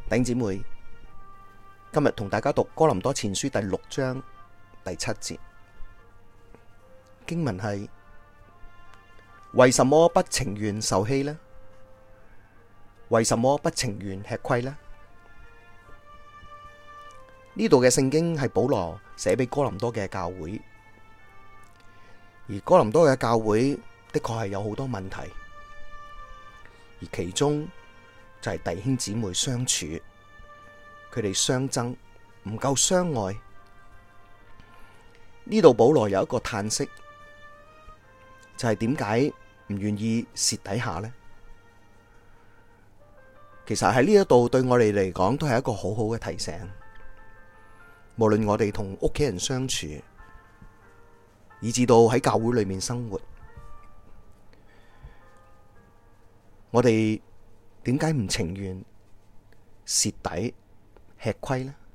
弟兄姊妹，今日同大家讀哥林多前書第6章第7節，經文係：為什麼不情願受欺呢？為什麼不情願吃虧呢？呢度嘅聖經係保羅寫俾哥林多嘅教會，而哥林多嘅教會的確係有好多問題，而其中就係弟兄姊妹相處，佢哋相爭，唔夠相愛。呢度保羅有一個嘆息，就係點解唔願意蝕底下呢？其實喺呢一度對我哋嚟講都係一個好好嘅提醒。無論我哋同屋企人相處，以至到喺教會裏面生活，我哋點解唔情願蝕底吃虧呢？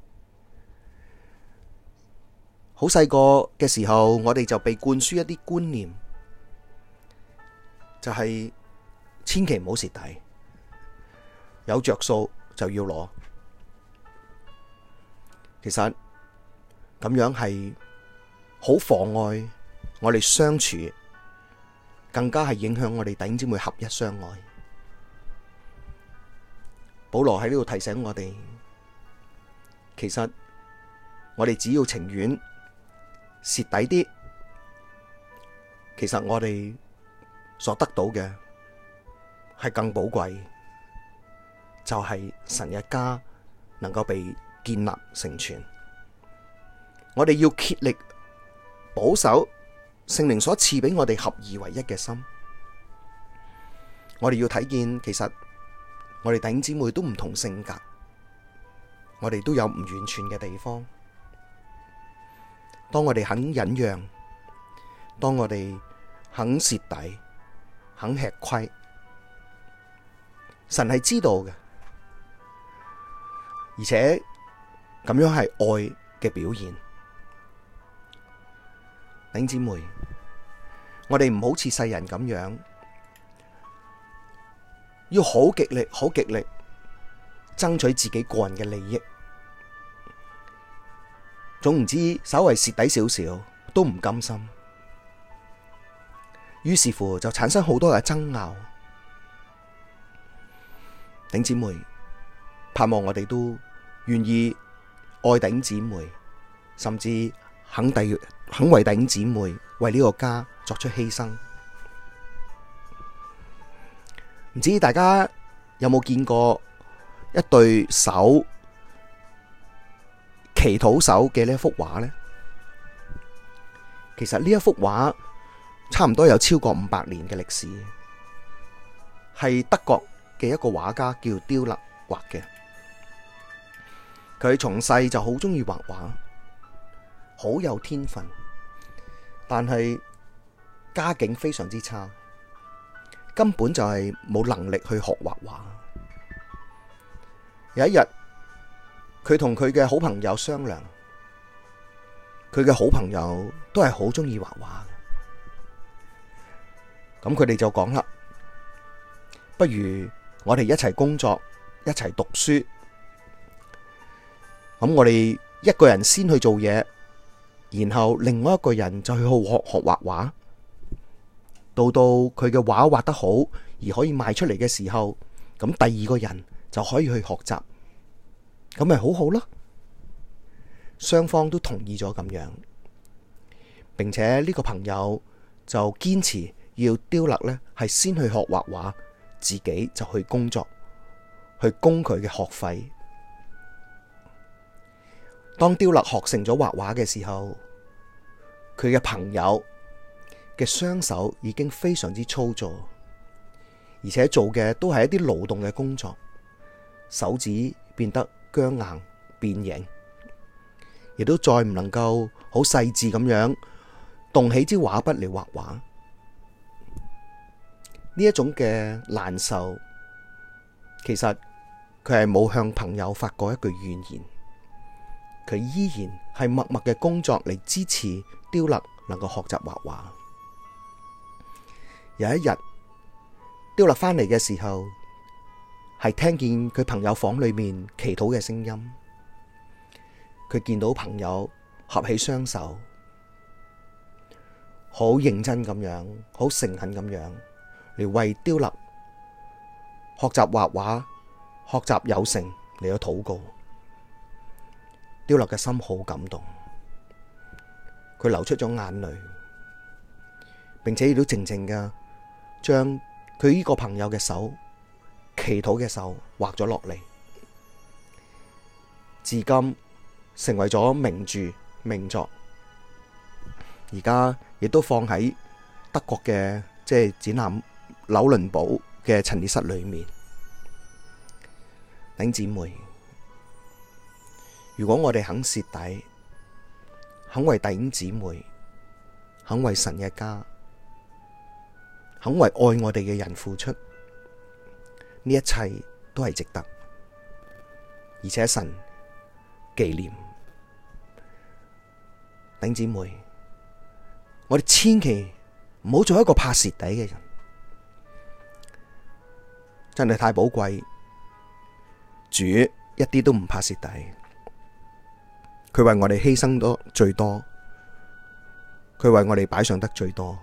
好細個嘅時候，我哋就被灌輸一啲觀念，就係千祈唔好蝕底，有着數就要攞。其實咁樣係好妨礙我哋相處，更加係影響我哋弟兄姊妹合一相愛。保羅喺呢度提醒我哋，其實我哋只要情願蝕底啲，其實我哋所得到嘅係更寶貴，就係神嘅家能夠被建立成全。我哋要竭力保守聖靈所賜俾我哋合而為一嘅心。我哋要睇見，其實我哋弟兄姊妹都唔同性格，我哋都有唔完全嘅地方。當我哋肯忍讓，當我哋肯蝕底，肯吃虧，神係知道嘅，而且咁樣係愛嘅表現。弟兄姊妹，我哋唔好似世人咁樣，要好極力爭取自己個人嘅利益，總唔知稍微蝕底少少都唔甘心，於是乎就產生好多嘅爭拗。弟兄姊妹，盼望我哋都願意愛弟兄姊妹，甚至肯為弟兄姊妹為呢個家作出犧牲。唔知大家有冇見過一對手祈禱手嘅呢一幅畫呢？其實呢一幅畫差唔多有超過500年嘅歷史，係德國嘅一個畫家叫丟勒畫嘅。佢從細就好鍾意畫畫，好有天分，但係家境非常之差，根本就係冇能力去學畫畫。有一日，佢同佢嘅好朋友商量，佢嘅好朋友都係好鍾意畫畫，咁佢哋就講啦，不如我哋一齊工作，一齊讀書。咁我哋一個人先去做嘢，然後另外一個人就去學畫畫。到佢嘅畫畫得好而可以賣出嚟嘅時候，咁第二個人就可以去學習，咁咪好好咯。雙方都同意咗咁樣，並且呢個朋友就堅持要丟勒呢係先去學畫畫，自己就去工作，去供佢嘅學費。當丟勒學成咗畫畫嘅時候，佢嘅朋友嘅雙手已經非常之粗糙，而且做嘅都係一啲勞動嘅工作，手指變得僵硬變形，亦都再唔能夠好細緻咁樣動起支畫筆嚟畫畫。呢一種嘅難受，其實佢係冇向朋友發過一句怨言，佢依然係默默嘅工作嚟支持丟勒能夠學習畫畫。有一日，丟勒返嚟嘅時候， 係聽見佢朋友房裏面祈禱嘅聲音，佢見到朋友合起雙手，好認真咁樣，好誠懇咁樣嚟為丟勒學習畫畫、學習有成嚟到禱告。丟勒嘅心好感動，佢流出咗眼淚，並且亦都靜靜嘅將佢呢個朋友嘅手，祈禱嘅手畫咗落嚟，至今成為咗名著名作，而家亦都放喺德國嘅展覽紐倫堡嘅陳列室裏面。弟兄姊妹，如果我哋肯蝕底，肯為弟兄姊妹，肯為神嘅家，肯為愛我哋嘅人付出，呢一切都係值得，而且神紀念。弟兄姊妹，我哋千祈唔好做一個怕蝕底嘅人，真係太寶貴。主一啲都唔怕蝕底，佢為我哋犧牲得最多，佢為我哋擺上得最多，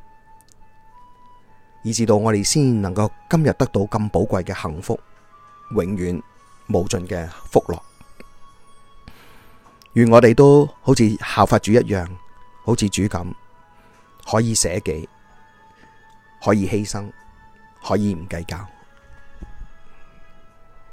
以至到我哋先能夠今日得到咁寶貴嘅幸福，永遠無盡嘅福樂。願我哋都好似效法主一樣，好似主咁，可以捨己，可以犧牲，可以唔計較。